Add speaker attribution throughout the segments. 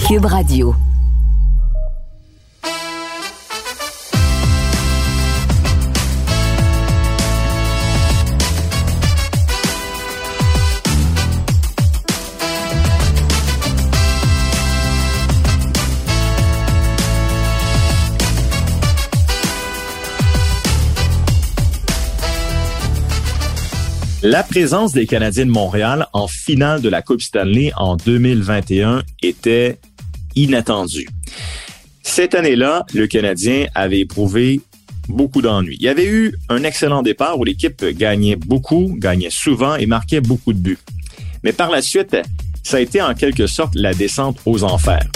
Speaker 1: Cube Radio.
Speaker 2: La présence des Canadiens de Montréal en finale de la Coupe Stanley en 2021 était inattendue. Cette année-là, le Canadien avait éprouvé beaucoup d'ennuis. Il y avait eu un excellent départ où l'équipe gagnait beaucoup, gagnait souvent et marquait beaucoup de buts. Mais par la suite, ça a été en quelque sorte la descente aux enfers.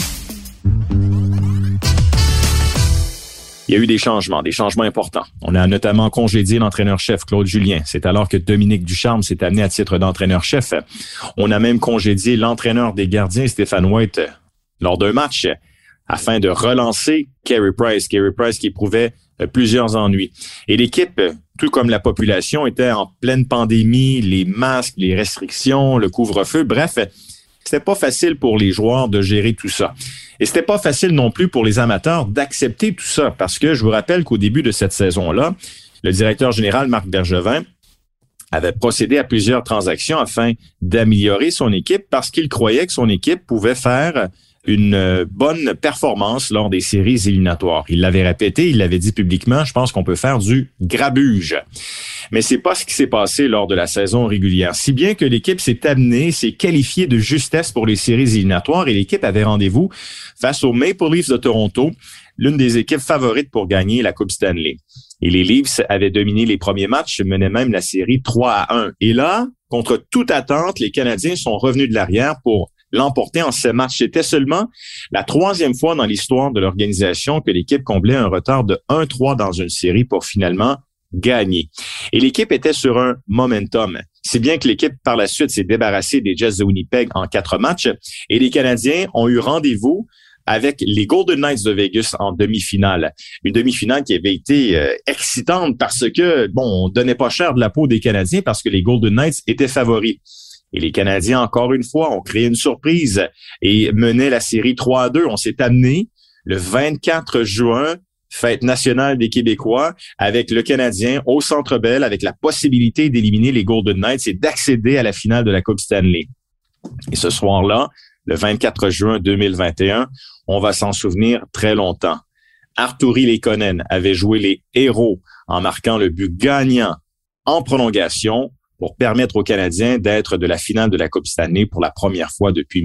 Speaker 2: Il y a eu des changements importants. On a notamment congédié l'entraîneur-chef Claude Julien. C'est alors que Dominique Ducharme s'est amené à titre d'entraîneur-chef. On a même congédié l'entraîneur des gardiens, Stéphane White, lors d'un match afin de relancer Carey Price. Carey Price qui éprouvait plusieurs ennuis. Et l'équipe, tout comme la population, était en pleine pandémie, les masques, les restrictions, le couvre-feu. Bref, c'était pas facile pour les joueurs de gérer tout ça. Et c'était pas facile non plus pour les amateurs d'accepter tout ça, parce que je vous rappelle qu'au début de cette saison-là, le directeur général Marc Bergevin avait procédé à plusieurs transactions afin d'améliorer son équipe parce qu'il croyait que son équipe pouvait faire une bonne performance lors des séries éliminatoires. Il l'avait répété, il l'avait dit publiquement, je pense qu'on peut faire du grabuge. Mais c'est pas ce qui s'est passé lors de la saison régulière. Si bien que l'équipe s'est qualifiée de justesse pour les séries éliminatoires et l'équipe avait rendez-vous face aux Maple Leafs de Toronto, l'une des équipes favorites pour gagner la Coupe Stanley. Et les Leafs avaient dominé les premiers matchs, menaient même la série 3-1. Et là, contre toute attente, les Canadiens sont revenus de l'arrière pour l'emporter en 7 matchs. C'était seulement la 3e fois dans l'histoire de l'organisation que l'équipe comblait un retard de 1-3 dans une série pour finalement gagner. Et l'équipe était sur un momentum. C'est bien que l'équipe, par la suite, s'est débarrassée des Jets de Winnipeg en 4 matchs et les Canadiens ont eu rendez-vous avec les Golden Knights de Vegas en demi-finale. Une demi-finale qui avait été excitante parce que, on donnait pas cher de la peau des Canadiens parce que les Golden Knights étaient favoris. Et les Canadiens, encore une fois, ont créé une surprise et menaient la série 3-2. On s'est amené le 24 juin, fête nationale des Québécois, avec le Canadien au Centre Bell, avec la possibilité d'éliminer les Golden Knights et d'accéder à la finale de la Coupe Stanley. Et ce soir-là, le 24 juin 2021, on va s'en souvenir très longtemps. Artturi Leikonen avait joué les héros en marquant le but gagnant en prolongation pour permettre aux Canadiens d'être de la finale de la Coupe Stanley pour la première fois depuis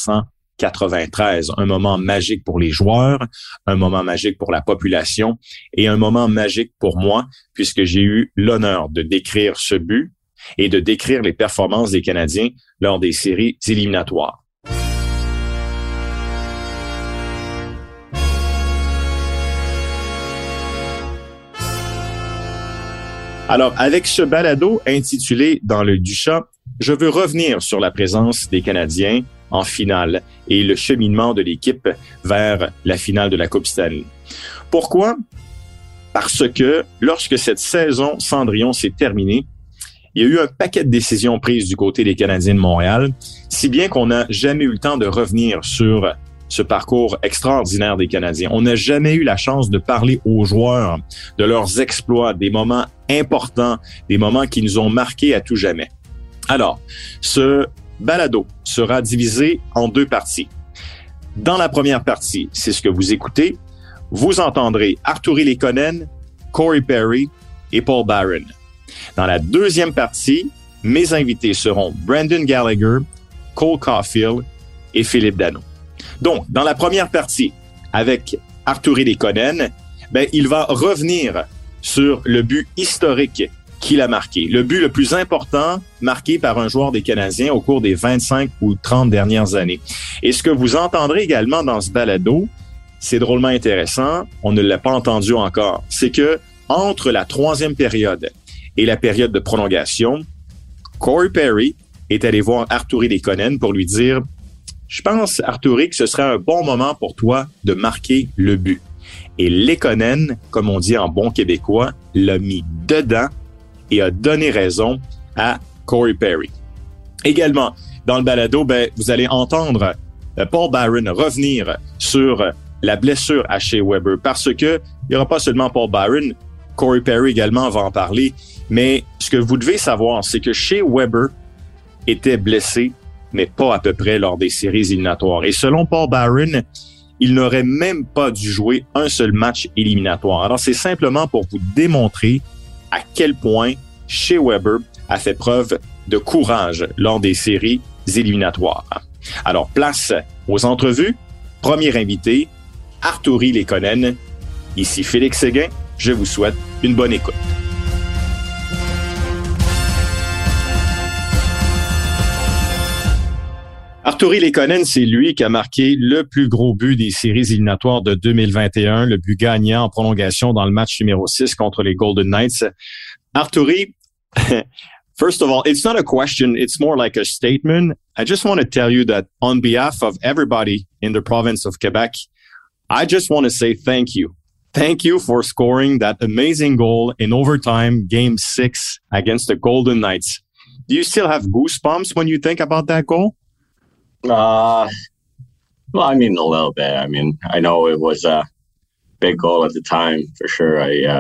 Speaker 2: 1993. Un moment magique pour les joueurs, un moment magique pour la population et un moment magique pour moi puisque j'ai eu l'honneur de décrire ce but et de décrire les performances des Canadiens lors des séries éliminatoires. Alors, avec ce balado intitulé « Dans l'œil du chat », je veux revenir sur la présence des Canadiens en finale et le cheminement de l'équipe vers la finale de la Coupe Stanley. Pourquoi? Parce que lorsque cette saison Cendrillon s'est terminée, il y a eu un paquet de décisions prises du côté des Canadiens de Montréal, si bien qu'on n'a jamais eu le temps de revenir sur ce parcours extraordinaire des Canadiens. On n'a jamais eu la chance de parler aux joueurs de leurs exploits, des moments importants, des moments qui nous ont marqués à tout jamais. Alors, ce balado sera divisé en 2 parties. Dans la première partie, c'est ce que vous écoutez, vous entendrez Artturi Leikonen, Corey Perry et Paul Byron. Dans la deuxième partie, mes invités seront Brendan Gallagher, Cole Caulfield et Philippe Danault. Donc, dans la première partie, avec Artturi Leikonen, il va revenir sur le but historique qu'il a marqué, le but le plus important marqué par un joueur des Canadiens au cours des 25 ou 30 dernières années. Et ce que vous entendrez également dans ce balado, c'est drôlement intéressant, on ne l'a pas entendu encore, c'est que entre la 3e période et la période de prolongation, Corey Perry est allé voir Artturi Leikonen pour lui dire « Je pense, Artturi, que ce serait un bon moment pour toi de marquer le but. » Et Leikonen, comme on dit en bon québécois, l'a mis dedans et a donné raison à Corey Perry. Également, dans le balado, vous allez entendre Paul Byron, revenir sur la blessure à Shea Weber, parce que il n'y aura pas seulement Paul Byron, Corey Perry également va en parler, mais ce que vous devez savoir, c'est que Shea Weber était blessé, mais pas à peu près lors des séries éliminatoires. Et selon Paul Byron, il n'aurait même pas dû jouer un seul match éliminatoire. Alors, c'est simplement pour vous démontrer à quel point Shea Weber a fait preuve de courage lors des séries éliminatoires. Alors, place aux entrevues. Premier invité, Artturi Leikonen. Ici Félix Séguin. Je vous souhaite une bonne écoute. Artturi Leikonen, c'est lui qui a marqué le plus gros but des séries éliminatoires de 2021, le but gagnant en prolongation dans le match numéro 6 contre les Golden Knights. Artturi, first of all, it's not a question, it's more like a statement. I just want to tell you that on behalf of everybody in the province of Quebec, I just want to say thank you. Thank you for scoring that amazing goal in overtime, Game 6 against the Golden Knights. Do you still have goosebumps when you think about that goal?
Speaker 1: Well, I mean, a little bit. I mean, I know it was a big goal at the time for sure.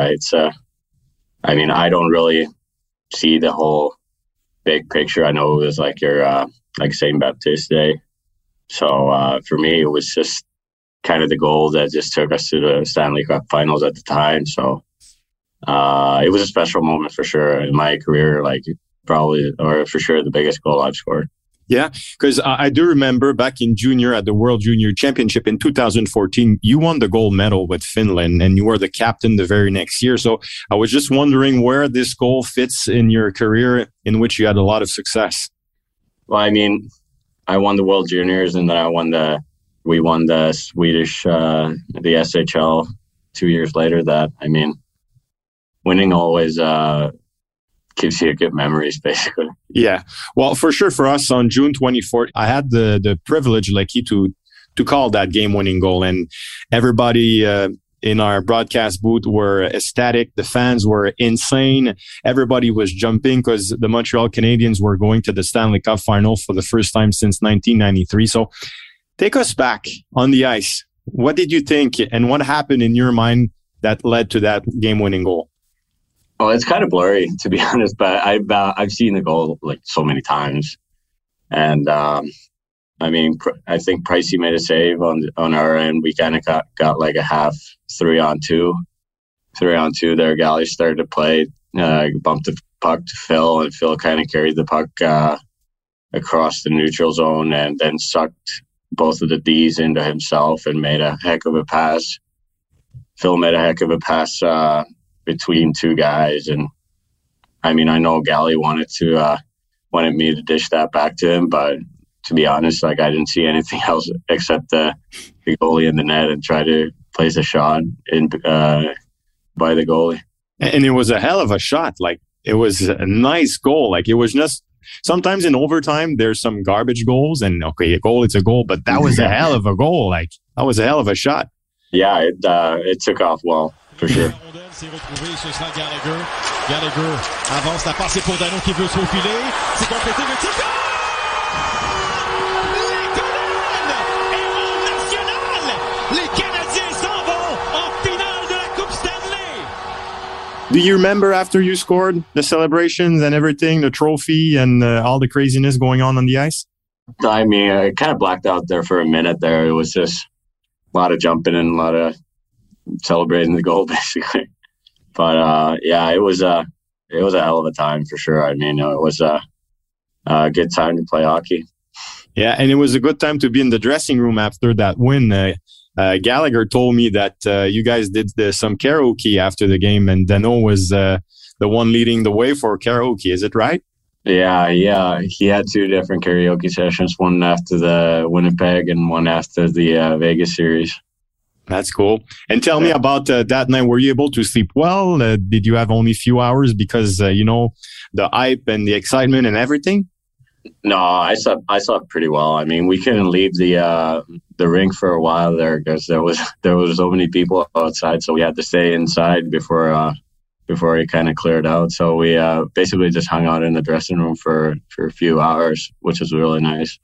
Speaker 1: I mean, I don't really see the whole big picture. I know it was like like St. Baptiste Day. So for me, it was just kind of the goal that just took us to the Stanley Cup Finals at the time. So it was a special moment for sure in my career. Like probably, or for sure, the biggest goal I've scored.
Speaker 2: Yeah, because I do remember back in junior at the World Junior Championship in 2014, you won the gold medal with Finland and you were the captain the very next year. So I was just wondering where this goal fits in your career in which you had a lot of success.
Speaker 1: Well, I mean, I won the World Juniors and then we won the Swedish, the SHL 2 years later. That, I mean, winning always, gives you good memories, basically.
Speaker 2: Yeah. Well, for sure, for us on June 24th, I had the privilege, Lucky, to call that game-winning goal. And everybody in our broadcast booth were ecstatic. The fans were insane. Everybody was jumping because the Montreal Canadiens were going to the Stanley Cup Final for the first time since 1993. So take us back on the ice. What did you think and what happened in your mind that led to that game-winning goal?
Speaker 1: Oh, it's kind of blurry, to be honest, but I've seen the goal like so many times, and I mean, I think Pricey made a save on our end. We kind of got like a half 3-on-2 there. Galley started to play, bumped the puck to Phil, and Phil kind of carried the puck across the neutral zone, and then sucked both of the Ds into himself and made a heck of a pass. Phil made a heck of a pass between two guys, and I mean, I know Galley wanted me to dish that back to him, but to be honest, like I didn't see anything else except the goalie in the net and try to place a shot in by the goalie.
Speaker 2: And it was a hell of a shot. Like it was a nice goal. Like it was just sometimes in overtime there's some garbage goals, and okay, a goal it's a goal, but that was a hell of a goal. Like that was a hell of a shot.
Speaker 1: Yeah, it took off well. For sure.
Speaker 3: S'est retrouvé, ce sera Gallagher. Gallagher avance, la passe est pour Dano qui veut se faufiler. C'est complété, le tir. Leikonen! Héros national! Les Canadiens s'en vont en finale de la Coupe Stanley!
Speaker 2: Do you remember after you scored the celebrations and everything, the trophy and all the craziness going on the ice?
Speaker 1: I mean, I kind of blacked out there for a minute there. It was just a lot of jumping and a lot of celebrating the goal, basically. But yeah, it was a hell of a time for sure. I mean, it was a good time to play hockey.
Speaker 2: Yeah, and it was a good time to be in the dressing room after that win. Gallagher told me that you guys did some karaoke after the game, and Dano was the one leading the way for karaoke. Is it right?
Speaker 1: Yeah. He had two different karaoke sessions, one after the Winnipeg and one after the Vegas series.
Speaker 2: That's cool. And tell me about that night. Were you able to sleep well? Did you have only a few hours because, the hype and the excitement and everything?
Speaker 1: No, I slept pretty well. I mean, we couldn't leave the rink for a while there because there was so many people outside. So we had to stay inside before it kind of cleared out. So we basically just hung out in the dressing room for a few hours, which was really nice.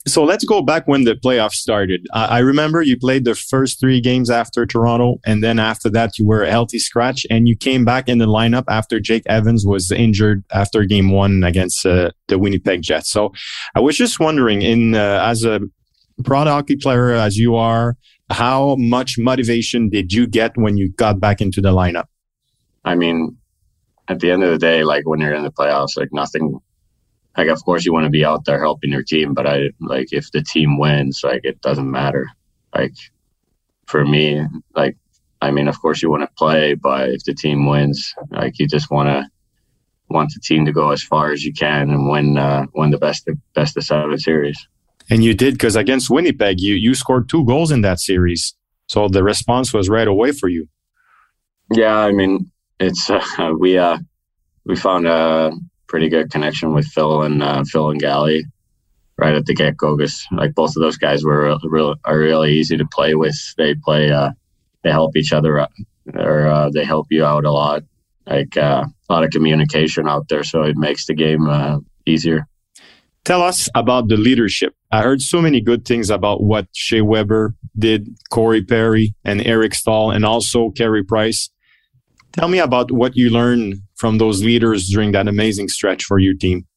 Speaker 2: So let's go back when the playoffs started. I remember you played the first 3 games after Toronto, and then after that you were a healthy scratch, and you came back in the lineup after Jake Evans was injured after game 1 against the Winnipeg Jets. So I was just wondering, as a pro hockey player as you are, how much motivation did you get when you got back into the lineup?
Speaker 1: I mean, at the end of the day, like when you're in the playoffs, like nothing, like of course you want to be out there helping your team, but if the team wins, like it doesn't matter. Like for me, like, I mean, of course you want to play, but if the team wins, like you just want the team to go as far as you can and win the best of 7 series.
Speaker 2: And you did, because against Winnipeg, you scored 2 goals in that series. So the response was right away for you.
Speaker 1: Yeah, I mean, it's we found a pretty good connection with Phil and Gally right at the get-go, because like both of those guys are really easy to play with. They play, they help each other out, or they help you out a lot. Like a lot of communication out there, so it makes the game easier.
Speaker 2: Tell us about the leadership. I heard so many good things about what Shea Weber did, Corey Perry, and Eric Stahl, and also Carey Price. Tell me about what you learned from those leaders during that amazing stretch for your team.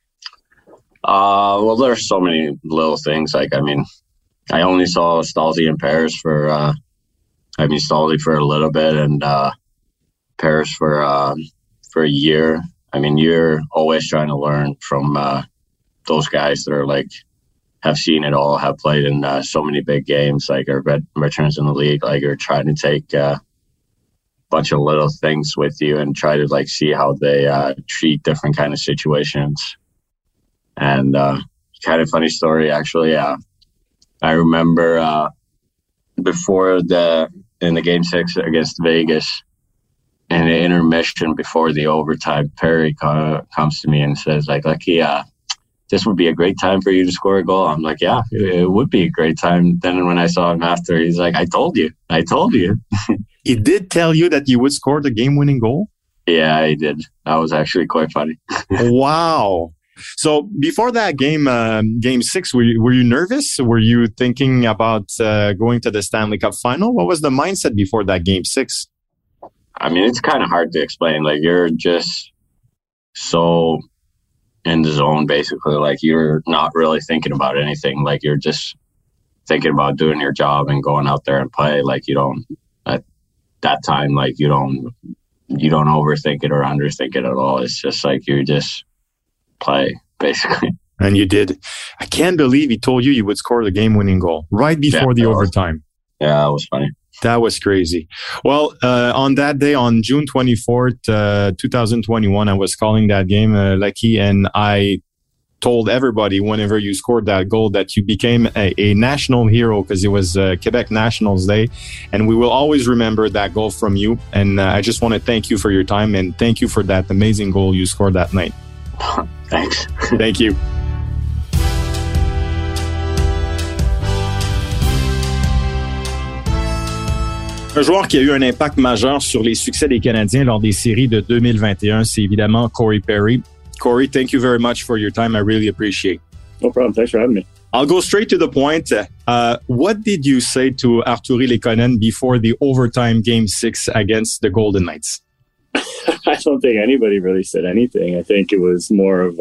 Speaker 1: Well, there's so many little things. Like, I mean, I only saw Stalzy and Paris Stalzy for a little bit and Paris for a year. I mean, you're always trying to learn from those guys that are like, have seen it all, have played in so many big games, like are veterans in the league. Like, are trying to take bunch of little things with you and try to like see how they treat different kind of situations. And kind of funny story, actually. I remember before in the game 6 against Vegas, in the intermission before the overtime, Perry comes to me and says like, this would be a great time for you to score a goal. I'm like, yeah, it would be a great time. Then when I saw him after, he's like, I told you.
Speaker 2: He did tell you that you would score the game-winning goal?
Speaker 1: Yeah, he did. That was actually quite funny.
Speaker 2: Wow. So before that game 6, were you nervous? Were you thinking about going to the Stanley Cup final? What was the mindset before that game 6?
Speaker 1: I mean, it's kind of hard to explain. Like, you're just so in the zone, basically. Like, you're not really thinking about anything. Like, you're just thinking about doing your job and going out there and play. Like, you don't, at that time, like, you don't overthink it or underthink it at all. It's just like, you just play, basically.
Speaker 2: And you did. I can't believe he told you would score the game-winning goal right before the overtime.
Speaker 1: Yeah, that was funny.
Speaker 2: That was crazy. Well, on that day, on June 24th, 2021, I was calling that game, Lucky, and I told everybody whenever you scored that goal that you became a national hero, because it was Quebec Nationals Day, and we will always remember that goal from you. And I just want to thank you for your time, and thank you for that amazing goal you scored that night.
Speaker 1: Thanks.
Speaker 2: Thank you. Un joueur qui a eu un impact majeur sur les succès des Canadiens lors des séries de 2021, c'est évidemment Corey Perry. Corey, thank you very much for your time. I really appreciate it.
Speaker 4: No problem. Thanks for having me.
Speaker 2: I'll go straight to the point. What did you say to Artturi Lehkonen before the overtime game 6 against the Golden Knights?
Speaker 4: I don't think anybody really said anything. I think it was more of,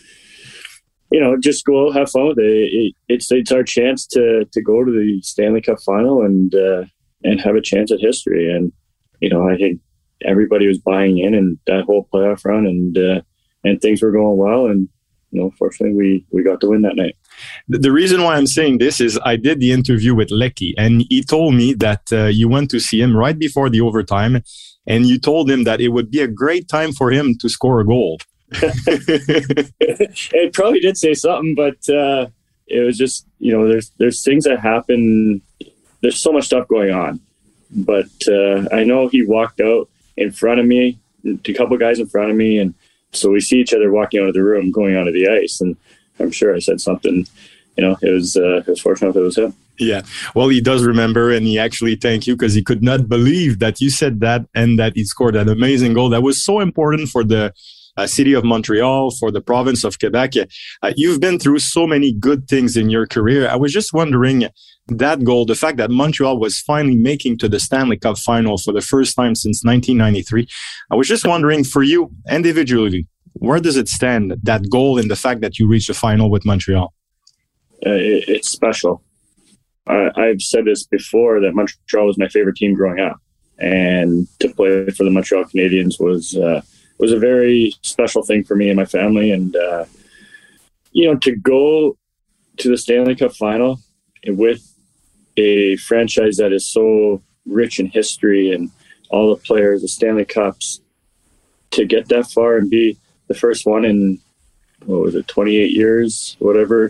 Speaker 4: just go out, have fun with it. It's our chance to go to the Stanley Cup final and have a chance at history. And, I think everybody was buying in that whole playoff run and things were going well. And, fortunately we got to win that night.
Speaker 2: The reason why I'm saying this is I did the interview with Lecky, and he told me that you went to see him right before the overtime, and you told him that it would be a great time for him to score a goal.
Speaker 4: It probably did say something, but it was just, there's things that happen. There's so much stuff going on. But I know he walked out in front of me, a couple guys in front of me, and so we see each other walking out of the room, going onto the ice, and I'm sure I said something. It was fortunate if it was him.
Speaker 2: Yeah. Well, he does remember, and he actually thanked you because he could not believe that you said that and that he scored that amazing goal that was so important for the city of Montreal, for the province of Quebec. You've been through so many good things in your career. I was just wondering, that goal, the fact that Montreal was finally making to the Stanley Cup final for the first time since 1993. I was just wondering, for you individually, where does it stand, that goal, and the fact that you reached the final with Montreal?
Speaker 4: It's special. I've said this before, that Montreal was my favorite team growing up, and to play for the Montreal Canadiens was a very special thing for me and my family. And to go to the Stanley Cup final with a franchise that is so rich in history and all the players, the Stanley Cups, to get that far and be the first one in, 28 years, whatever.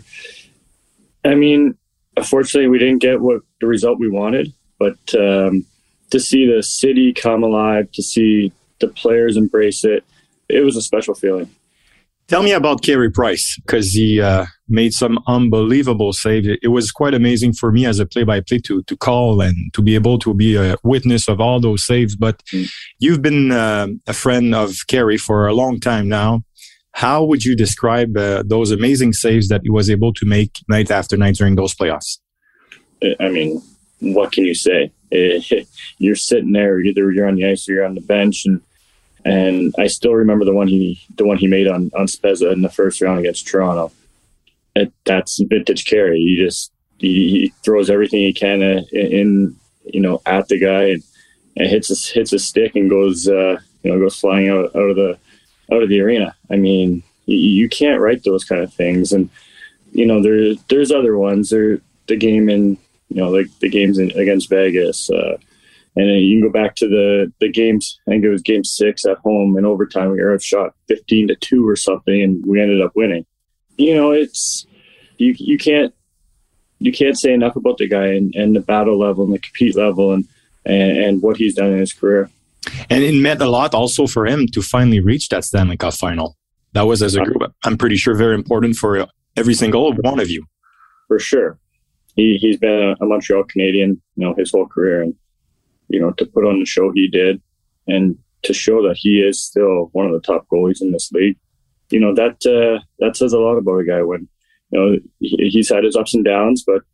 Speaker 4: I mean, unfortunately, we didn't get the result we wanted, but to see the city come alive, to see the players embrace it, it was a special feeling.
Speaker 2: Tell me about Carey Price, because he made some unbelievable saves. It was quite amazing for me as a play-by-play to call and to be able to be a witness of all those saves. But you've been a friend of Carey for a long time now. How would you describe those amazing saves that he was able to make night after night during those playoffs?
Speaker 4: I mean, what can you say? You're sitting there, either you're on the ice or you're on the bench, and I still remember the one he made on Spezza in the first round against Toronto. That's vintage Carey. He throws everything he can in at the guy and hits a stick and goes flying out of the arena. I mean, you can't write those kind of things. And there's other ones. There the game in like the games against Vegas. And then you can go back to the games. I think it was Game 6 at home in overtime. We were shot 15-2 or something, and we ended up winning. It's you can't say enough about the guy and the battle level and the compete level and what he's done in his career.
Speaker 2: And it meant a lot also for him to finally reach that Stanley Cup final. That was, as a group, I'm pretty sure, very important for every single one of you.
Speaker 4: For sure, he's been a Montreal Canadian, his whole career, and to put on the show he did, and to show that he is still one of the top goalies in this league, that says a lot about a guy. When he's had his ups and downs, but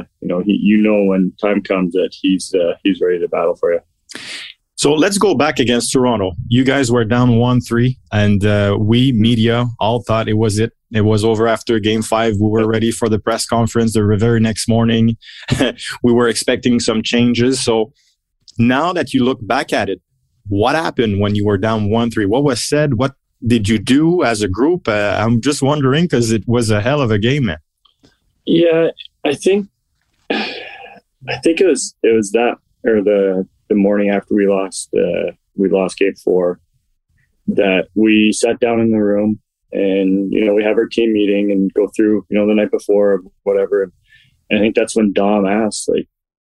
Speaker 4: when time comes that he's ready to battle for you.
Speaker 2: So let's go back against Toronto. You guys were down 1-3, and we, media, all thought it was it. It was over after Game 5. We were ready for the press conference the very next morning. We were expecting some changes. So now that you look back at it, what happened when you were down 1-3? What was said? What did you do as a group? I'm just wondering, because it was a hell of a game, man.
Speaker 4: Yeah, I think it was that, or the morning after we lost Game 4, that we sat down in the room and we have our team meeting and go through the night before or whatever. And I think that's when Dom asked, like,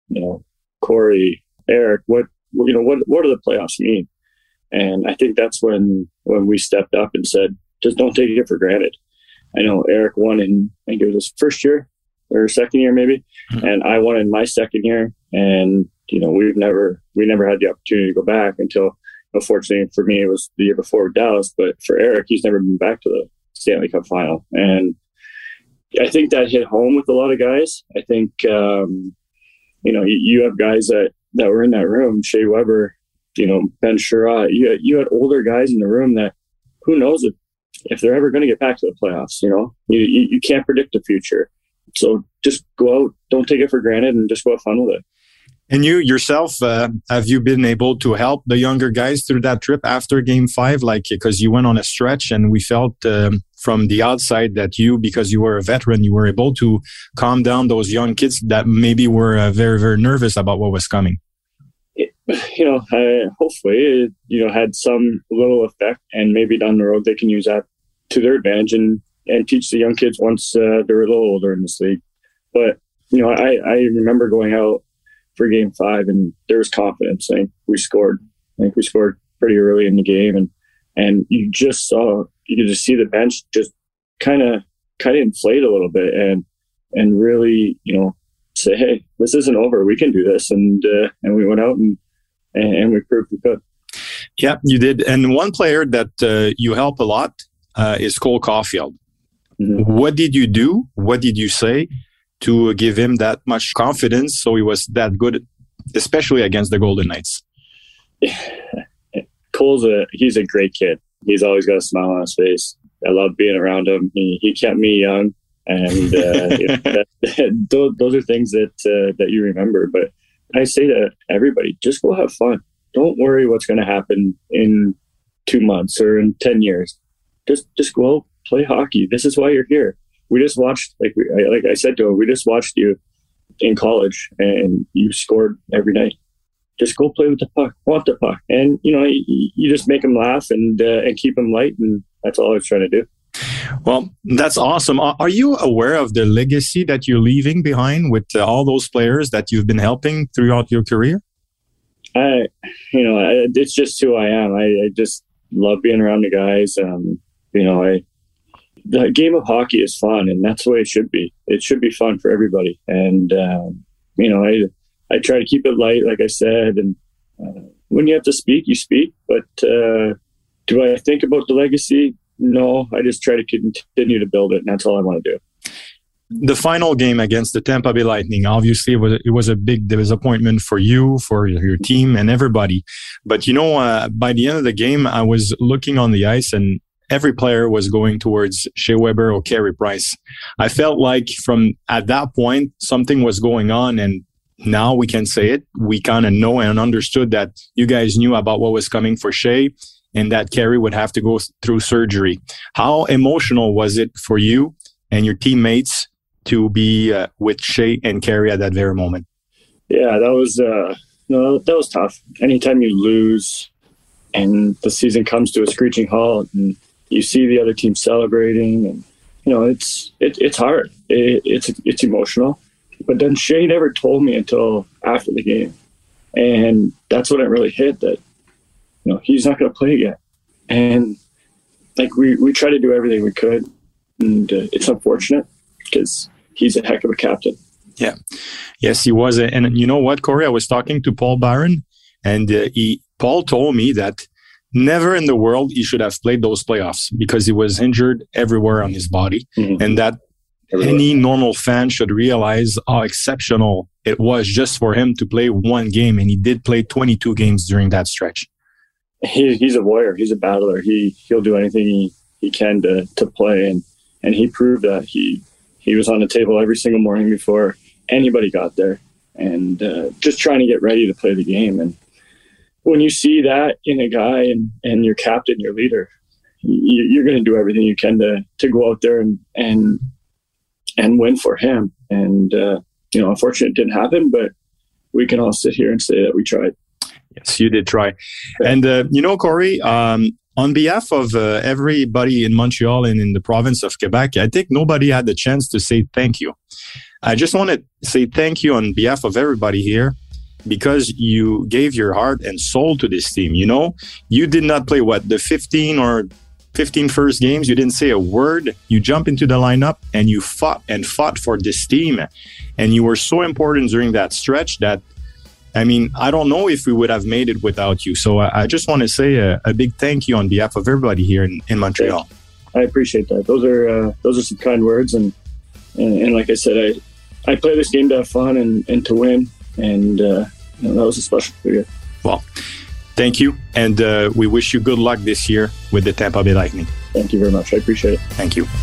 Speaker 4: Corey, Eric, what do the playoffs mean? And I think that's when we stepped up and said, just don't take it for granted. I know Eric won in, I think it was his first year or second year maybe, and I won in my second year. And we never had the opportunity to go back until, unfortunately for me, it was the year before with Dallas. But for Eric, he's never been back to the Stanley Cup final, and I think that hit home with a lot of guys. I think you have guys that were in that room, Shea Weber, Ben Sherratt. You had older guys in the room that, who knows if they're ever going to get back to the playoffs. You can't predict the future, so just go out, don't take it for granted, and just go have fun with it.
Speaker 2: And you yourself, have you been able to help the younger guys through that trip after Game 5? Like, because you went on a stretch, and we felt from the outside that because you were a veteran, you were able to calm down those young kids that maybe were very, very nervous about what was coming.
Speaker 4: Hopefully, had some little effect, and maybe down the road they can use that to their advantage and teach the young kids once they're a little older in this league. But I remember going out for Game 5, and there was confidence. I think we scored pretty early in the game, and you could just see the bench just kind of inflate a little bit, and really say, hey, this isn't over. We can do this, and we went out and we proved we could.
Speaker 2: Yeah, you did. And one player that you help a lot is Cole Caulfield. Mm-hmm. What did you do? What did you say to give him that much confidence so he was that good, especially against the Golden Knights?
Speaker 4: He's a great kid. He's always got a smile on his face. I love being around him. He kept me young, and those are things that you remember. But I say to everybody, just go have fun. Don't worry what's going to happen in 2 months or in 10 years. Just go out, play hockey. This is why you're here. We just watched, like I said to him, we just watched you in college, and you scored every night. Just go play with the puck, want the puck. And, you just make them laugh and keep them light. And that's all I was trying to do.
Speaker 2: Well, that's awesome. Are you aware of the legacy that you're leaving behind with all those players that you've been helping throughout your career?
Speaker 4: It's just who I am. I just love being around the guys. The game of hockey is fun, and that's the way it should be. It should be fun for everybody. And, I try to keep it light, like I said, and when you have to speak, you speak. But do I think about the legacy? No, I just try to continue to build it, and that's all I want to do.
Speaker 2: The final game against the Tampa Bay Lightning, obviously, it was a big disappointment for you, for your team, and everybody. But, by the end of the game, I was looking on the ice, and every player was going towards Shea Weber or Carey Price. I felt like at that point, something was going on, and now we can say it. We kind of know and understood that you guys knew about what was coming for Shea and that Carey would have to go through surgery. How emotional was it for you and your teammates to be with Shea and Carey at that very moment?
Speaker 4: Yeah, that was tough. Anytime you lose and the season comes to a screeching halt and you see the other team celebrating, and it's hard. It's emotional. But then Shea never told me until after the game. And that's when it really hit that, he's not going to play again. And we try to do everything we could. And it's unfortunate because he's a heck of a captain.
Speaker 2: Yeah. Yes, he was. And you know what, Corey? I was talking to Paul Byron, and Paul told me that never in the world he should have played those playoffs because he was injured everywhere on his body. Mm-hmm. And that any normal fan should realize how exceptional it was just for him to play one game. And he did play 22 games during that stretch.
Speaker 4: He's a warrior. He's a battler. He'll do anything he can to play. And he proved that he was on the table every single morning before anybody got there, and just trying to get ready to play the game. And when you see that in a guy and your captain, your leader, you're going to do everything you can to go out there and win for him. And, unfortunately it didn't happen, but we can all sit here and say that we tried.
Speaker 2: Yes, you did try. Yeah. And, Corey, on behalf of everybody in Montreal and in the province of Quebec, I think nobody had the chance to say thank you. I just want to say thank you on behalf of everybody here because you gave your heart and soul to this team. You did not play the 15 first games. You didn't say a word. You jumped into the lineup and you fought for this team. And you were so important during that stretch that, I don't know if we would have made it without you. So I just want to say a big thank you on behalf of everybody here in Montreal.
Speaker 4: I appreciate that. Those are some kind words. And like I said, I play this game to have fun and to win. And that was a special period.
Speaker 2: Well, thank you. And we wish you good luck this year with the Tampa Bay Lightning.
Speaker 4: Thank you very much. I appreciate it.
Speaker 2: Thank you.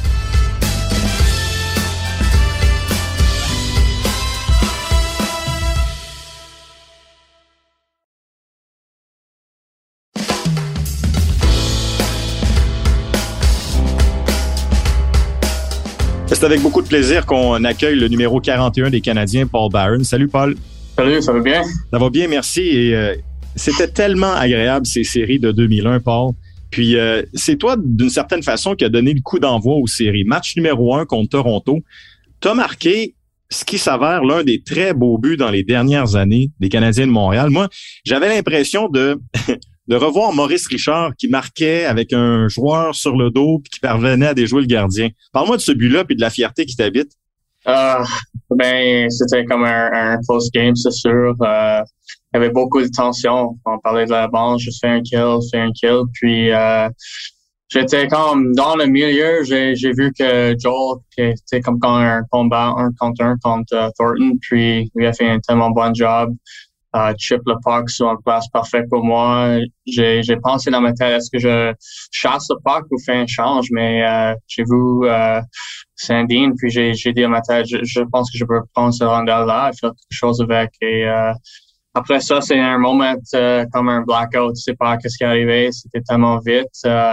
Speaker 2: C'est avec beaucoup de plaisir qu'on accueille le numéro 41 des Canadiens, Paul Byron. Salut, Paul.
Speaker 1: Salut, ça va bien?
Speaker 2: Ça va bien, merci. Et c'était tellement agréable, ces séries de 2001, Paul. Puis, c'est toi, d'une certaine façon, qui a donné le coup d'envoi aux séries. Match numéro 1 contre Toronto. Tu as marqué ce qui s'avère l'un des très beaux buts dans les dernières années des Canadiens de Montréal. Moi, j'avais l'impression de revoir Maurice Richard qui marquait avec un joueur sur le dos puis qui parvenait à déjouer le gardien. Parle-moi de ce but-là puis de la fierté qui t'habite.
Speaker 5: C'était comme un close game, c'est sûr. il y avait beaucoup de tension. On parlait de la bande, juste fais un kill. Puis j'étais comme dans le milieu, j'ai vu que Joel était comme quand un combat 1 contre Thornton, puis lui a fait un tellement bon job. Chip le puck sur une place parfaite pour moi. J'ai pensé dans ma tête, est-ce que je chasse le puck ou fais un change, mais j'ai vu Sandine, puis j'ai dit à ma tête, je pense que je peux prendre ce rondelle-là et faire quelque chose avec. Et après ça, c'est un moment comme un blackout. Tu sais pas qu'est-ce qui est arrivé. C'était tellement vite.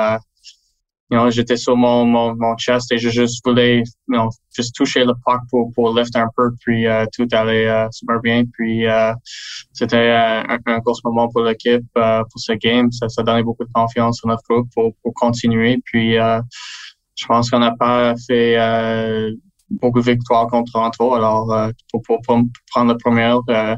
Speaker 5: J'étais sur mon chest et je juste voulais, juste toucher le puck pour lift un peu, puis tout allait super bien. Puis c'était un gros moment pour l'équipe, pour ce game. Ça donnait beaucoup de confiance sur notre groupe pour continuer. Puis je pense qu'on n'a pas fait beaucoup de victoires contre Toronto. Alors pour prendre le premier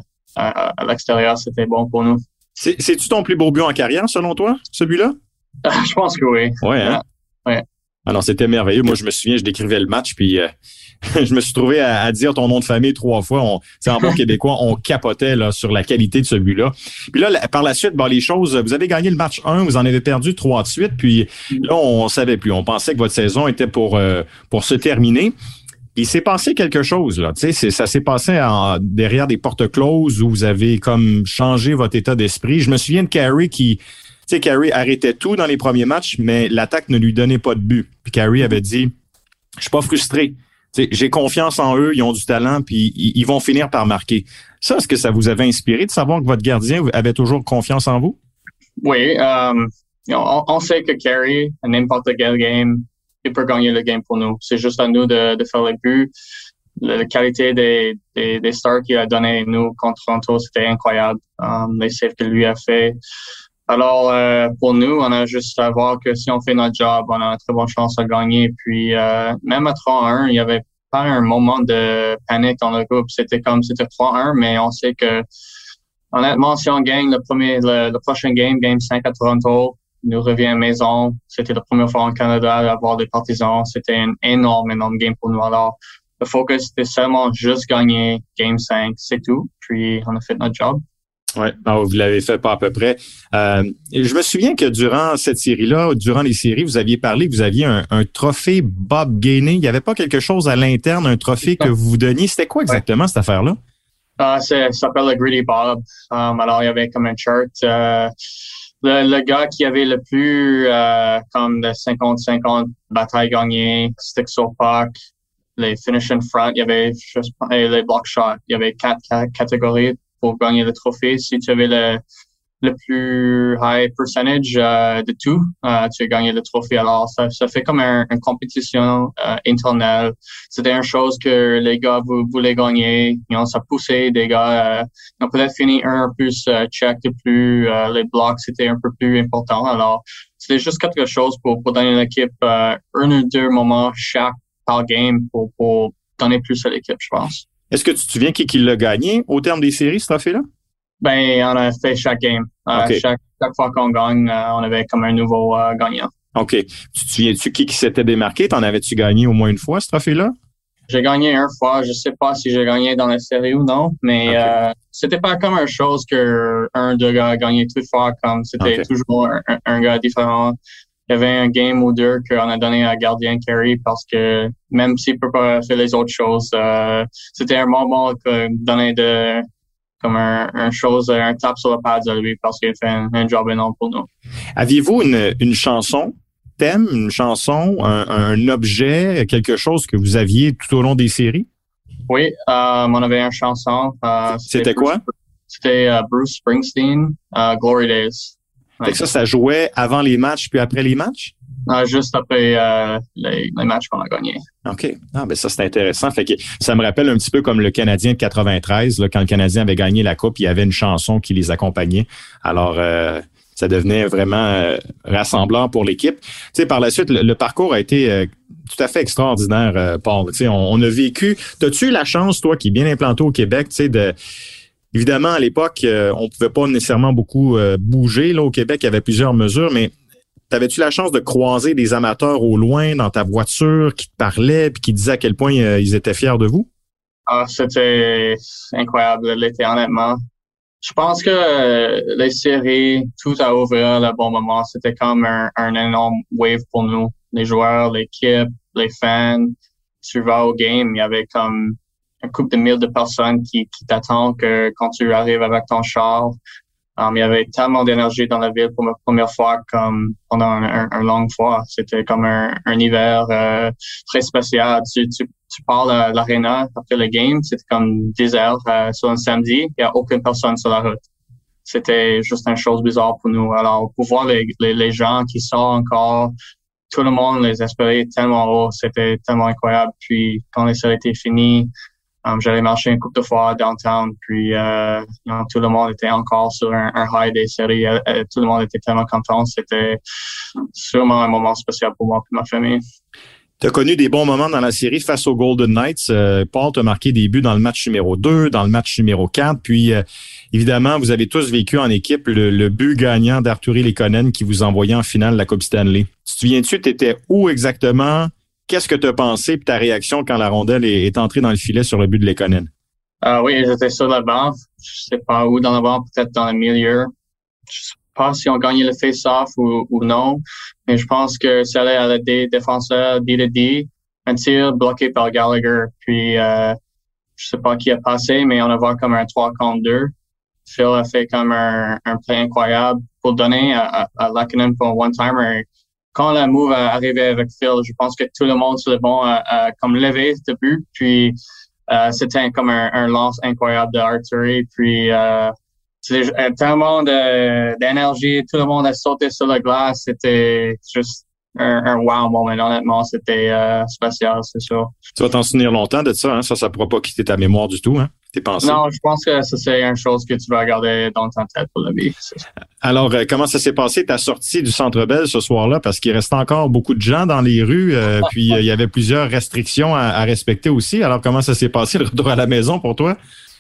Speaker 5: à l'extérieur, c'était bon pour nous.
Speaker 2: C'est-tu ton plus beau but en carrière, selon toi, ce but-là?
Speaker 5: Je pense que oui.
Speaker 2: Ouais, hein?
Speaker 5: Ouais.
Speaker 2: Alors, c'était merveilleux. Moi, je me souviens, je décrivais le match, puis je me suis trouvé à dire ton nom de famille 3 fois. En bon québécois, on capotait là sur la qualité de ce but-là. Puis là, par la suite, les choses, vous avez gagné le match 1, vous en avez perdu 3 de suite, puis là, on savait plus. On pensait que votre saison était pour se terminer. Il s'est passé quelque chose, là. Tu sais, ça s'est passé derrière des portes closes où vous avez comme changé votre état d'esprit. Je me souviens de Carey Carey arrêtait tout dans les premiers matchs, mais l'attaque ne lui donnait pas de but. Puis Carey avait dit, je suis pas frustré. T'sais, j'ai confiance en eux, ils ont du talent, puis ils vont finir par marquer. Ça, est-ce que ça vous avait inspiré de savoir que votre gardien avait toujours confiance en vous?
Speaker 5: Oui, on sait que Carey, à n'importe quel game, il peut gagner le game pour nous. C'est juste à nous de faire les buts. La qualité des stars qu'il a donné nous contre Toronto, c'était incroyable. Les saves que lui a fait. Alors, pour nous, on a juste à voir que si on fait notre job, on a une très bonne chance à gagner. Puis, même à 3-1, il n'y avait pas un moment de panique dans le groupe. C'était 3-1, mais on sait que, honnêtement, si on gagne le prochain game 5 à Toronto, nous revient à la maison. C'était la première fois en Canada d'avoir des partisans. C'était un énorme game pour nous. Alors, le focus, c'était seulement juste gagner game 5, c'est tout. Puis, on a fait notre job.
Speaker 2: Oui, vous l'avez fait pas à peu près. Je me souviens que durant cette série-là, durant les séries, vous aviez parlé que vous aviez un trophée Bob Gainey. Il n'y avait pas quelque chose à l'interne, un trophée que vous vous donniez. C'était quoi exactement cette affaire-là?
Speaker 5: Ça s'appelle le Greedy Bob. Alors, il y avait comme un chart. Le gars qui avait le plus comme de 50-50 batailles gagnées, stick sur puck, les finish in front, il y avait les block shots. Il y avait 4 catégories pour gagner le trophée. Si tu avais le plus high percentage de tout, tu as gagné le trophée. Alors, ça fait comme une compétition interne. C'était une chose que les gars voulaient gagner. Ça poussait des gars. Ils ont peut-être fini un plus check de plus. Les blocs, c'était un peu plus important. Alors, c'était juste quelque chose pour donner à l'équipe un ou deux moments chaque par game pour donner plus à l'équipe, je pense.
Speaker 2: Est-ce que tu te souviens qui l'a gagné au terme des séries, ce trophée-là?
Speaker 5: Ben, on a fait chaque game.
Speaker 2: Okay.
Speaker 5: Chaque fois qu'on gagne, on avait comme un nouveau gagnant.
Speaker 2: OK. Tu te souviens-tu qui s'était démarqué? T'en avais-tu gagné au moins une fois, ce trophée-là?
Speaker 5: J'ai gagné une fois. Je sais pas si j'ai gagné dans la série ou non, mais c'était pas comme une chose que un, deux gars a gagné toute fois, comme c'était toujours un gars différent. Il y avait un game ou deux qu'on a donné à gardien Carey parce que même s'il peut pas faire les autres choses, c'était un moment que donner comme un chose, un tap sur le pad à lui parce qu'il fait un job énorme pour nous.
Speaker 2: Aviez-vous une chanson, thème, une chanson, un objet, quelque chose que vous aviez tout au long des séries?
Speaker 5: Oui, on avait une chanson.
Speaker 2: C'était quoi?
Speaker 5: C'était Bruce Springsteen, Glory Days.
Speaker 2: Fait que ça jouait avant les matchs puis après les matchs?
Speaker 5: Juste après les matchs qu'on a gagnés.
Speaker 2: OK. Ben ça, c'est intéressant. Fait que ça me rappelle un petit peu comme le Canadien de 93, là, quand le Canadien avait gagné la Coupe, il y avait une chanson qui les accompagnait. Alors, ça devenait vraiment rassembleur pour l'équipe. Tu sais, par la suite, le parcours a été tout à fait extraordinaire, Paul. Tu sais, on a vécu... T'as-tu eu la chance, toi, qui est bien implanté au Québec, tu sais, Évidemment, à l'époque, on pouvait pas nécessairement beaucoup bouger. Là, au Québec, il y avait plusieurs mesures, mais t'avais-tu la chance de croiser des amateurs au loin dans ta voiture qui te parlaient puis qui disaient à quel point ils étaient fiers de vous?
Speaker 5: C'était incroyable l'été, honnêtement. Je pense que les séries, tout a ouvert le bon moment. C'était comme un énorme wave pour nous. Les joueurs, l'équipe, les fans. Tu vas au game, il y avait comme un couple de mille de personnes qui t'attendent que quand tu arrives avec ton char. Il y avait tellement d'énergie dans la ville pour ma première fois comme pendant un long fois. C'était comme un hiver très spécial. Tu pars à l'aréna après le game, c'était comme 10 heures sur un samedi. Il n'y a aucune personne sur la route. C'était juste une chose bizarre pour nous. Alors, pour voir les gens qui sortent encore, tout le monde les espérait tellement haut. C'était tellement incroyable. Puis, quand les séries étaient finies, j'allais marcher une couple de fois downtown, puis tout le monde était encore sur un high des séries. Tout le monde était tellement content. C'était sûrement un moment spécial pour moi et ma famille.
Speaker 2: Tu as connu des bons moments dans la série face aux Golden Knights. Paul t'a marqué des buts dans le match numéro 2, dans le match numéro 4. Puis, évidemment, vous avez tous vécu en équipe le but gagnant d'Artturi Lekonen qui vous envoyait en finale la Coupe Stanley. Tu te souviens-tu, tu étais où exactement? Qu'est-ce que tu as pensé et ta réaction quand la rondelle est entrée dans le filet sur le but de Lekonen?
Speaker 5: Oui, j'étais sur la banc. Je sais pas où dans la banc, peut-être dans le milieu. Je sais pas si on gagnait le face-off ou non, mais je pense que ça allait à la défenseur D2D. Un tir bloqué par Gallagher. Puis, je sais pas qui a passé, mais on a vu comme un 3 contre 2. Phil a fait comme un play incroyable pour donner à Lekonen pour un one-timer. Quand la move est arrivée avec Phil, je pense que tout le monde sur le banc a comme levé ce but. Puis c'était comme un lance incroyable de Artturi. Puis tellement d'énergie, tout le monde a sauté sur la glace. C'était juste un wow moment. Honnêtement, c'était spécial, c'est sûr.
Speaker 2: Tu vas t'en souvenir longtemps de ça, hein? Ça pourra pas quitter ta mémoire du tout, hein? Tes pensées.
Speaker 5: Non, je pense que ça, c'est une chose que tu vas garder dans ta tête pour la vie.
Speaker 2: Alors, comment ça s'est passé ta sortie du Centre Bell ce soir-là? Parce qu'il restait encore beaucoup de gens dans les rues, puis il y avait plusieurs restrictions à respecter aussi. Alors, comment ça s'est passé le retour à la maison pour toi?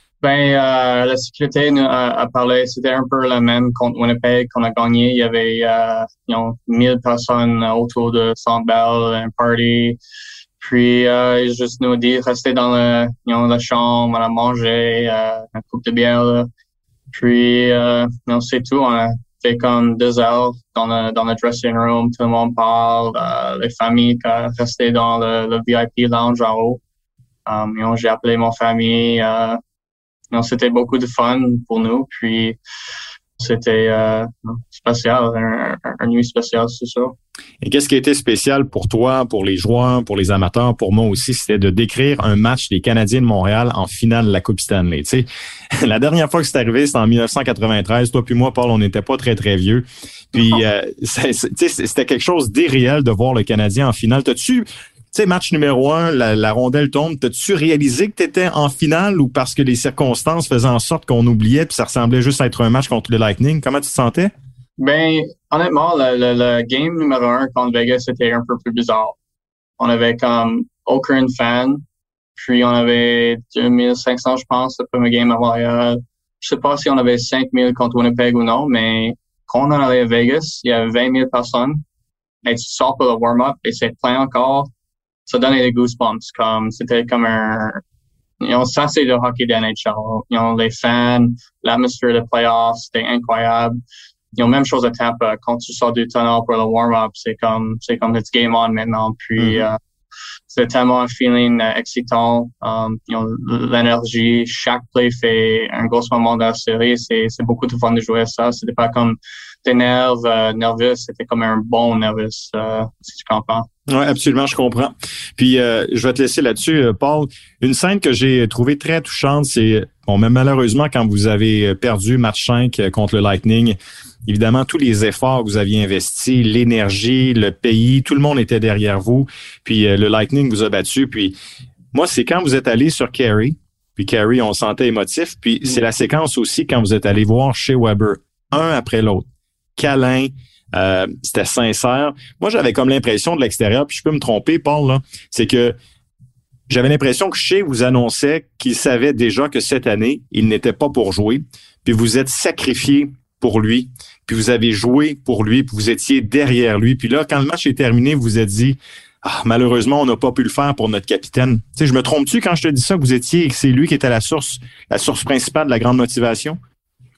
Speaker 5: La sécurité nous a parlé, c'était un peu la même contre Winnipeg qu'on a gagné. Il y avait 1000 personnes autour de Centre Bell, un party. Puis ils juste nous dit rester dans la chambre, on a mangé un coupe de bière. Là. Puis c'est tout. On a fait comme 2 heures dans le dressing room, tout le monde parle, les familles qui restaient dans le VIP lounge en haut. J'ai appelé mon famille. C'était beaucoup de fun pour nous. Puis c'était spécial, un nuit spécial, c'est ça.
Speaker 2: Et qu'est-ce qui a été spécial pour toi, pour les joueurs, pour les amateurs, pour moi aussi, c'était de décrire un match des Canadiens de Montréal en finale de la Coupe Stanley. Tu sais, la dernière fois que c'est arrivé, c'était en 1993. Toi puis moi, Paul, on n'était pas très, très vieux. Puis, c'était quelque chose d'irréel de voir le Canadien en finale. Tu sais, match numéro 1, la rondelle tombe. T'as-tu réalisé que t'étais en finale ou parce que les circonstances faisaient en sorte qu'on oubliait puis ça ressemblait juste à être un match contre le Lightning? Comment tu te sentais?
Speaker 5: Ben, honnêtement, le game numéro 1 contre Vegas, c'était un peu plus bizarre. On avait comme aucun fan. Puis on avait 2500, je pense, le premier game à Montréal. Je sais pas si on avait 5000 contre Winnipeg ou non, mais quand on allait à Vegas, il y avait 20 000 personnes. Et tu sors pour le warm-up et c'est plein encore. Ça donnait des goosebumps, c'était comme ça c'est le hockey de NHL. Les fans, l'atmosphère de playoffs, c'était incroyable. Même chose à Tampa, quand tu sors du tunnel pour le warm-up, c'est comme it's game on maintenant. Puis c'est tellement un feeling excitant. L'énergie, chaque play fait un gros moment dans la série. C'est beaucoup de fun de jouer à ça. C'était pas comme des nerveux, c'était comme un bon nerveux, si tu comprends.
Speaker 2: Oui, absolument, je comprends. Puis, je vais te laisser là-dessus, Paul. Une scène que j'ai trouvée très touchante, c'est, même malheureusement, quand vous avez perdu match 5 contre le Lightning, évidemment, tous les efforts que vous aviez investis, l'énergie, le pays, tout le monde était derrière vous. Puis, le Lightning vous a battu. Puis, moi, c'est quand vous êtes allé sur Carey. Puis, Carey, on sentait émotif. Puis, c'est la séquence aussi quand vous êtes allé voir Shea Weber, un après l'autre. Câlin, c'était sincère. Moi, j'avais comme l'impression de l'extérieur, puis je peux me tromper, Paul, là, c'est que j'avais l'impression que Shea vous annonçait qu'il savait déjà que cette année, il n'était pas pour jouer, puis vous êtes sacrifié pour lui, puis vous avez joué pour lui, puis vous étiez derrière lui. Puis là, quand le match est terminé, vous vous êtes dit « malheureusement, on n'a pas pu le faire pour notre capitaine. » Tu sais, je me trompe-tu quand je te dis ça, que c'est lui qui était la source principale de la grande motivation?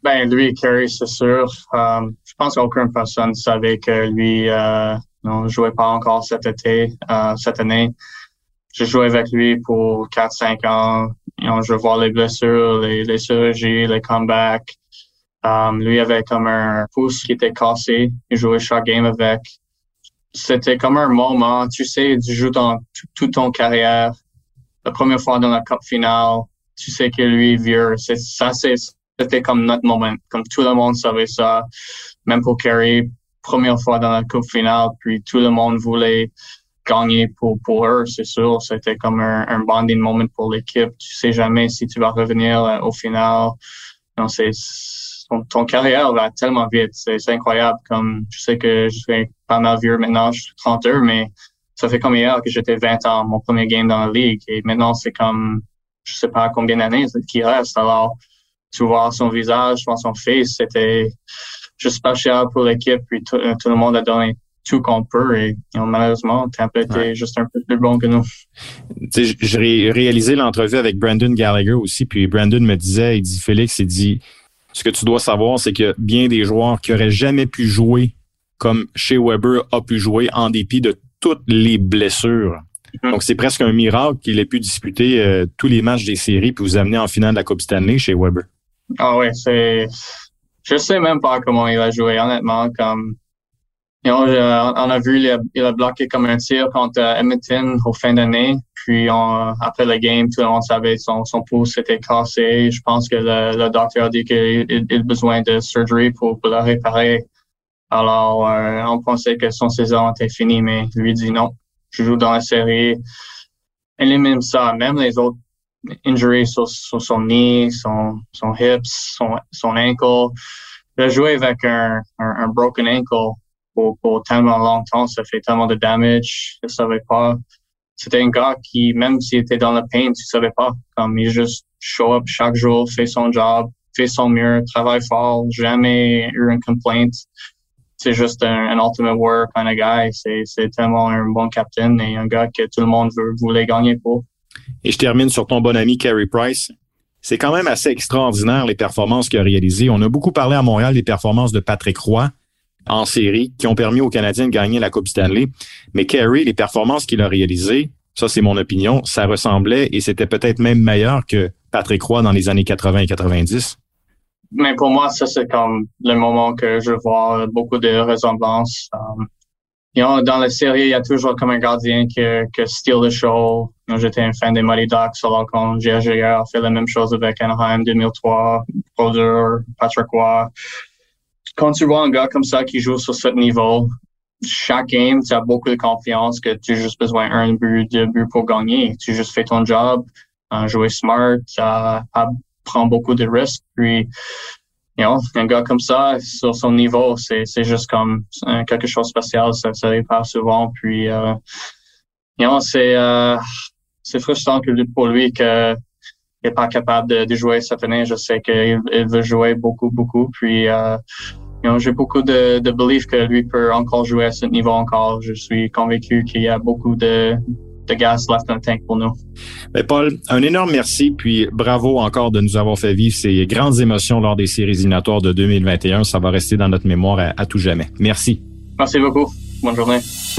Speaker 5: Ben, lui, Carey, c'est sûr. Je pense qu'aucune personne savait que lui ne jouait pas encore cette année. J'ai joué avec lui pour 4-5 ans. Je vois les blessures, les chirurgies, les comebacks. Lui avait comme un pouce qui était cassé. Il jouait chaque game avec. C'était comme un moment, tu sais, tu joues dans toute ton carrière. La première fois dans la Coupe finale, tu sais que lui, vieux. C'était comme notre moment. Comme tout le monde savait ça. Même pour Carey, première fois dans la Coupe finale, puis tout le monde voulait gagner pour eux, c'est sûr. C'était comme un bonding moment pour l'équipe. Tu sais jamais si tu vas revenir au final. Non, ton carrière va tellement vite. C'est incroyable. Comme, je sais que je suis pas mal vieux maintenant, je suis 32, mais ça fait comme hier que j'étais 20 ans, mon premier game dans la ligue. Et maintenant, c'est comme, je sais pas combien d'années qui reste. Alors, tu vois son visage, tu vois son face, c'était juste spécial pour l'équipe. Puis tout le monde a donné tout qu'on peut. Et malheureusement, Tampa était juste un peu plus bon que nous.
Speaker 2: Tu sais, j'ai réalisé l'entrevue avec Brandon Gallagher aussi. Puis Brandon me disait, il dit, Félix, il dit, ce que tu dois savoir, c'est que bien des joueurs qui auraient jamais pu jouer comme Shea Weber a pu jouer en dépit de toutes les blessures. Donc, c'est presque un miracle qu'il ait pu disputer tous les matchs des séries puis vous amener en finale de la Coupe Stanley chez Weber.
Speaker 5: Ah oui, je sais même pas comment il a joué, honnêtement. Comme, on a vu, il a bloqué comme un tir contre Edmonton au fin d'année. Puis, après le game, tout le monde savait son pouce était cassé. Je pense que le docteur a dit qu'il a besoin de surgery pour le réparer. Alors, on pensait que son saison était finie, mais lui dit non. Je joue dans la série. Elle est même ça, même les autres injuries sur son knee, son hips, son ankle. Il a joué avec un broken ankle pour tellement longtemps, ça fait tellement de damage, je savais pas. C'était un gars qui, même s'il était dans le pain, tu savais pas. Comme il juste show up chaque jour, fait son job, fait son mieux, travaille fort, jamais eu une complaint. C'est juste un ultimate warrior kind of guy. C'est tellement un bon capitaine et un gars que tout le monde voulait gagner pour.
Speaker 2: Et je termine sur ton bon ami Carey Price. C'est quand même assez extraordinaire les performances qu'il a réalisées. On a beaucoup parlé à Montréal des performances de Patrick Roy en série qui ont permis aux Canadiens de gagner la Coupe Stanley. Mais Carey, les performances qu'il a réalisées, ça c'est mon opinion, ça ressemblait et c'était peut-être même meilleur que Patrick Roy dans les années 80 et 90.
Speaker 5: Mais pour moi, ça c'est comme le moment que je vois beaucoup de ressemblances. Dans la série, il y a toujours comme un gardien que steal the show. J'étais un fan des Mighty Ducks, alors quand J.J. a fait la même chose avec Anaheim 2003, Brodeur, Patrick Roy. Quand tu vois un gars comme ça qui joue sur ce niveau, chaque game, tu as beaucoup de confiance que tu as juste besoin d'un but, 2 buts pour gagner. Tu juste fais ton job, jouer smart, prendre beaucoup de risques. Puis, un gars comme ça, sur son niveau, c'est juste comme quelque chose de spécial. Ça arrive pas souvent. Puis, c'est frustrant pour lui qu'il n'est pas capable de jouer cette année. Je sais qu'il veut jouer beaucoup, beaucoup. Puis, j'ai beaucoup de belief que lui peut encore jouer à ce niveau encore. Je suis convaincu qu'il y a beaucoup de gaz left in the tank pour nous.
Speaker 2: Ben Paul, un énorme merci, puis bravo encore de nous avoir fait vivre ces grandes émotions lors des séries éliminatoires de 2021. Ça va rester dans notre mémoire à tout jamais. Merci.
Speaker 5: Merci beaucoup. Bonne journée.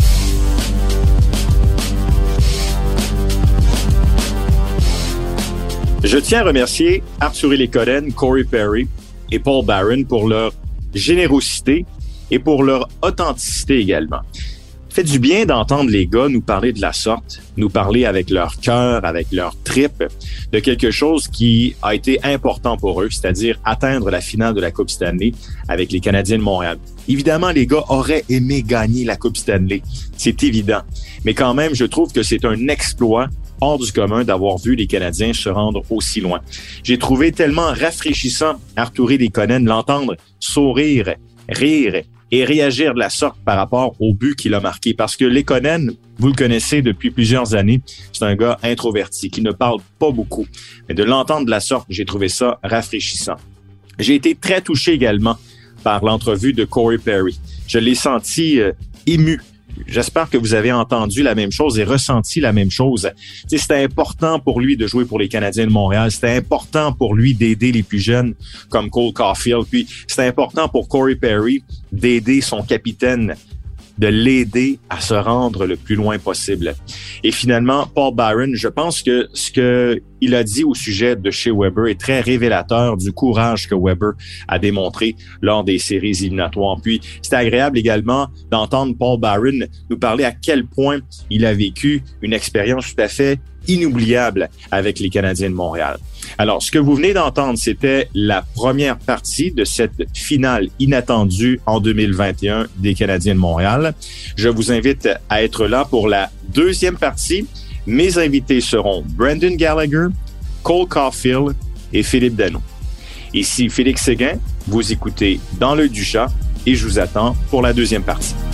Speaker 2: Je tiens à remercier Artturi Lehkonen, Corey Perry et Paul Barron pour leur générosité et pour leur authenticité également. Fait du bien d'entendre les gars nous parler de la sorte, nous parler avec leur cœur, avec leur trip, de quelque chose qui a été important pour eux, c'est-à-dire atteindre la finale de la Coupe Stanley avec les Canadiens de Montréal. Évidemment, les gars auraient aimé gagner la Coupe Stanley, c'est évident. Mais quand même, je trouve que c'est un exploit hors du commun d'avoir vu les Canadiens se rendre aussi loin. J'ai trouvé tellement rafraîchissant Artturi Lehkonen l'entendre sourire, rire et réagir de la sorte par rapport au but qu'il a marqué. Parce que Lehkonen, vous le connaissez depuis plusieurs années, c'est un gars introverti qui ne parle pas beaucoup. Mais de l'entendre de la sorte, j'ai trouvé ça rafraîchissant. J'ai été très touché également par l'entrevue de Corey Perry. Je l'ai senti ému j'espère que vous avez entendu la même chose et ressenti la même chose. C'était important pour lui de jouer pour les Canadiens de Montréal. C'était important pour lui d'aider les plus jeunes comme Cole Caulfield. Puis c'était important pour Corey Perry d'aider son capitaine, de l'aider à se rendre le plus loin possible. Et finalement, Paul Byron, je pense que ce qu'il a dit au sujet de Shea Weber est très révélateur du courage que Weber a démontré lors des séries éliminatoires. Puis, c'était agréable également d'entendre Paul Byron nous parler à quel point il a vécu une expérience tout à fait inoubliable avec les Canadiens de Montréal. Alors, ce que vous venez d'entendre, c'était la première partie de cette finale inattendue en 2021 des Canadiens de Montréal. Je vous invite à être là pour la deuxième partie. Mes invités seront Brendan Gallagher, Cole Caulfield et Philippe Danault. Ici Félix Séguin, vous écoutez Dans l'œil du chat et je vous attends pour la deuxième partie.